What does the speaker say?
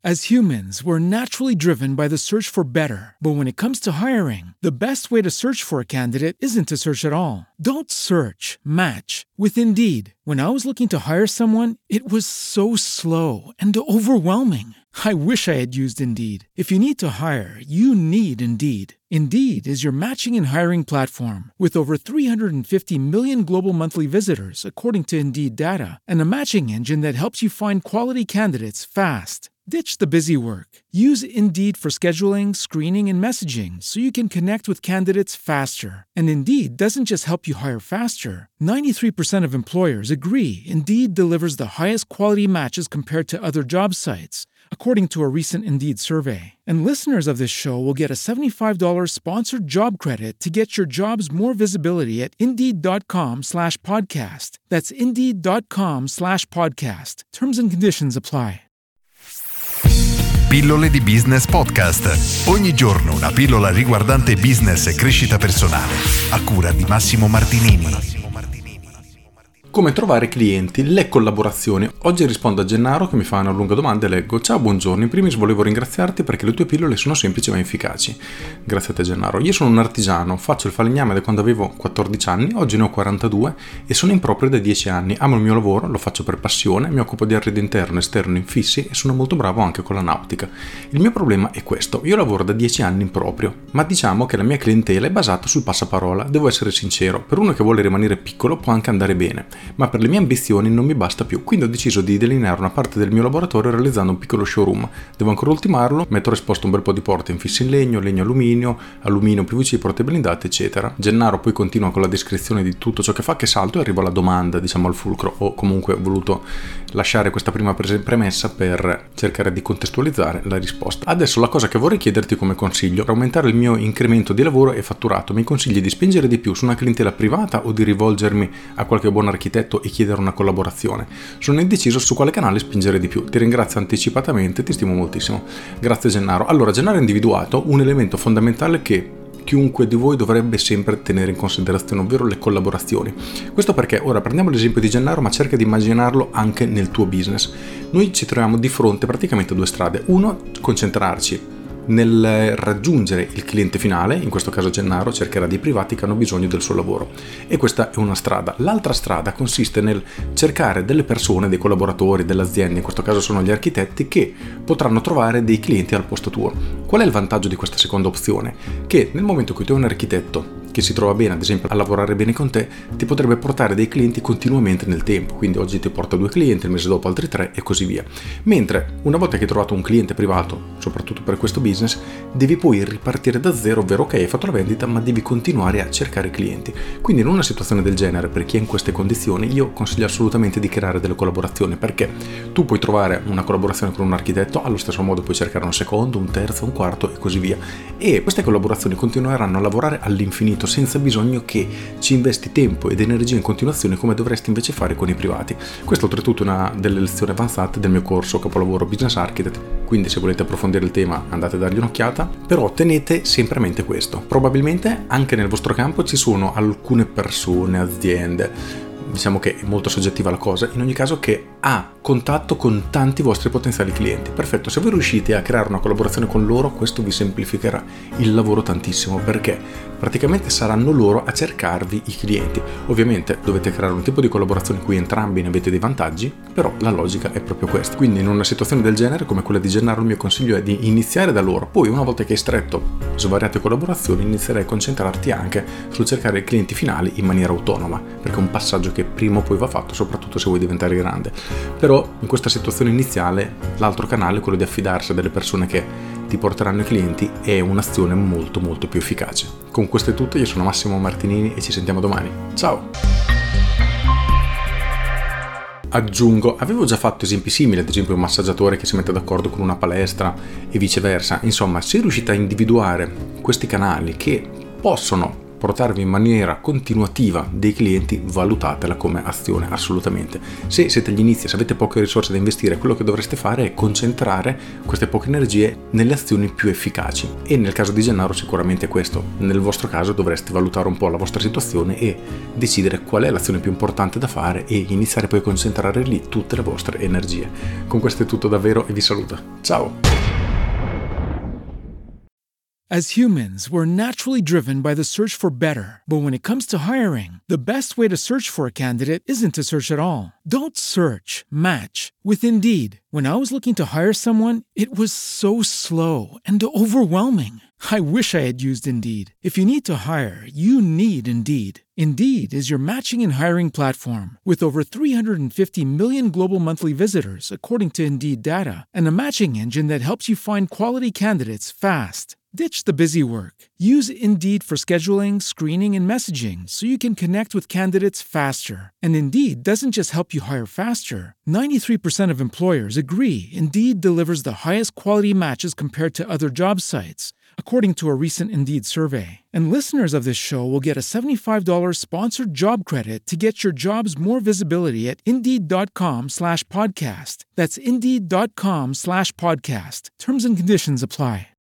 As humans, we're naturally driven by the search for better. But when it comes to hiring, the best way to search for a candidate isn't to search at all. Don't search, match with Indeed. When I was looking to hire someone, it was so slow and overwhelming. I wish I had used Indeed. If you need to hire, you need Indeed. Indeed is your matching and hiring platform with over 350 million global monthly visitors, according to Indeed data, and a matching engine that helps you find quality candidates fast. Ditch the busy work. Use Indeed for scheduling, screening, and messaging so you can connect with candidates faster. And Indeed doesn't just help you hire faster. 93% of employers agree Indeed delivers the highest quality matches compared to other job sites, according to a recent Indeed survey. And listeners of this show will get a $75 sponsored job credit to get your jobs more visibility at Indeed.com/podcast. That's Indeed.com/podcast. Terms and conditions apply. Pillole di Business Podcast. Ogni giorno una pillola riguardante business e crescita personale. A cura di Massimo Martinini. Come trovare clienti, le collaborazioni. Oggi rispondo a Gennaro che mi fa una lunga domanda e leggo: ciao, buongiorno, in primis volevo ringraziarti perché le tue pillole sono semplici ma efficaci. Grazie a te Gennaro. Io sono un artigiano, faccio il falegname da quando avevo 14 anni, oggi ne ho 42 e sono in proprio da 10 anni. Amo il mio lavoro, lo faccio per passione, mi occupo di arredo interno e esterno infissi e sono molto bravo anche con la nautica. Il mio problema è questo: io lavoro da 10 anni in proprio, ma diciamo che la mia clientela è basata sul passaparola. Devo essere sincero, per uno che vuole rimanere piccolo può anche andare bene, ma per le mie ambizioni non mi basta più, quindi ho deciso di delineare una parte del mio laboratorio realizzando un piccolo showroom. Devo ancora ultimarlo, metterò esposto un bel po' di porte infissi in legno, alluminio, PVC, porte blindate, eccetera. Gennaro poi continua con la descrizione di tutto ciò che fa, che salto e arrivo alla domanda, diciamo al fulcro. Ho comunque voluto lasciare questa prima premessa per cercare di contestualizzare la risposta. Adesso la cosa che vorrei chiederti come consiglio: per aumentare il mio incremento di lavoro e fatturato, mi consigli di spingere di più su una clientela privata o di rivolgermi a qualche buon architetto e chiedere una collaborazione? Sono indeciso su quale canale spingere di più. Ti ringrazio anticipatamente, ti stimo moltissimo. Grazie Gennaro. Allora, Gennaro ha individuato un elemento fondamentale che chiunque di voi dovrebbe sempre tenere in considerazione, ovvero le collaborazioni. Questo perché, ora prendiamo l'esempio di Gennaro, ma cerca di immaginarlo anche nel tuo business. Noi ci troviamo di fronte praticamente a due strade. Uno, concentrarci nel raggiungere il cliente finale, in questo caso Gennaro cercherà dei privati che hanno bisogno del suo lavoro, e questa è una strada. L'altra strada consiste nel cercare delle persone, dei collaboratori, delle aziende, in questo caso sono gli architetti, che potranno trovare dei clienti al posto tuo. Qual è il vantaggio di questa seconda opzione? Che nel momento in cui tu hai un architetto che si trova bene, ad esempio, a lavorare bene con te, ti potrebbe portare dei clienti continuamente nel tempo, quindi oggi ti porta 2 clienti, il mese dopo altri 3 e così via. Mentre una volta che hai trovato un cliente privato, soprattutto per questo business, devi poi ripartire da zero, ovvero ok, hai fatto la vendita, ma devi continuare a cercare clienti. Quindi in una situazione del genere, per chi è in queste condizioni, io consiglio assolutamente di creare delle collaborazioni, perché tu puoi trovare una collaborazione con un architetto, allo stesso modo puoi cercare un secondo, un terzo, un quarto e così via, e queste collaborazioni continueranno a lavorare all'infinito senza bisogno che ci investi tempo ed energia in continuazione come dovresti invece fare con i privati. Questo oltretutto è una delle lezioni avanzate del mio corso capolavoro Business Architect, quindi se volete approfondire il tema andate a dargli un'occhiata, però tenete sempre a mente questo: probabilmente anche nel vostro campo ci sono alcune persone, aziende, diciamo che è molto soggettiva la cosa, in ogni caso, che ha contatto con tanti vostri potenziali clienti. Perfetto, se voi riuscite a creare una collaborazione con loro, questo vi semplificherà il lavoro tantissimo, perché praticamente saranno loro a cercarvi i clienti. Ovviamente dovete creare un tipo di collaborazione in cui entrambi ne avete dei vantaggi, però la logica è proprio questa. Quindi in una situazione del genere come quella di Gennaro, il mio consiglio è di iniziare da loro, poi una volta che hai stretto svariate collaborazioni inizierai a concentrarti anche sul cercare i clienti finali in maniera autonoma, perché è un passaggio che prima o poi va fatto, soprattutto se vuoi diventare grande. Però in questa situazione iniziale l'altro canale, quello di affidarsi a delle persone che ti porteranno i clienti, è un'azione molto molto più efficace. Con questo è tutto, io sono Massimo Martinini e ci sentiamo domani. Ciao! Aggiungo, avevo già fatto esempi simili, ad esempio un massaggiatore che si mette d'accordo con una palestra e viceversa. Insomma, se riuscite a individuare questi canali che possono portarvi in maniera continuativa dei clienti, valutatela come azione assolutamente. Se siete agli inizi, se avete poche risorse da investire, quello che dovreste fare è concentrare queste poche energie nelle azioni più efficaci, e nel caso di Gennaro sicuramente questo. Nel vostro caso dovreste valutare un po' la vostra situazione e decidere qual è l'azione più importante da fare e iniziare poi a concentrare lì tutte le vostre energie. Con questo è tutto davvero e vi saluto. Ciao! As humans, we're naturally driven by the search for better. But when it comes to hiring, the best way to search for a candidate isn't to search at all. Don't search, match with Indeed. When I was looking to hire someone, it was so slow and overwhelming. I wish I had used Indeed. If you need to hire, you need Indeed. Indeed is your matching and hiring platform with over 350 million global monthly visitors, according to Indeed data, and a matching engine that helps you find quality candidates fast. Ditch the busy work. Use Indeed for scheduling, screening, and messaging so you can connect with candidates faster. And Indeed doesn't just help you hire faster. 93% of employers agree Indeed delivers the highest quality matches compared to other job sites, according to a recent Indeed survey. And listeners of this show will get a $75 sponsored job credit to get your jobs more visibility at Indeed.com/podcast. That's Indeed.com/podcast. Terms and conditions apply.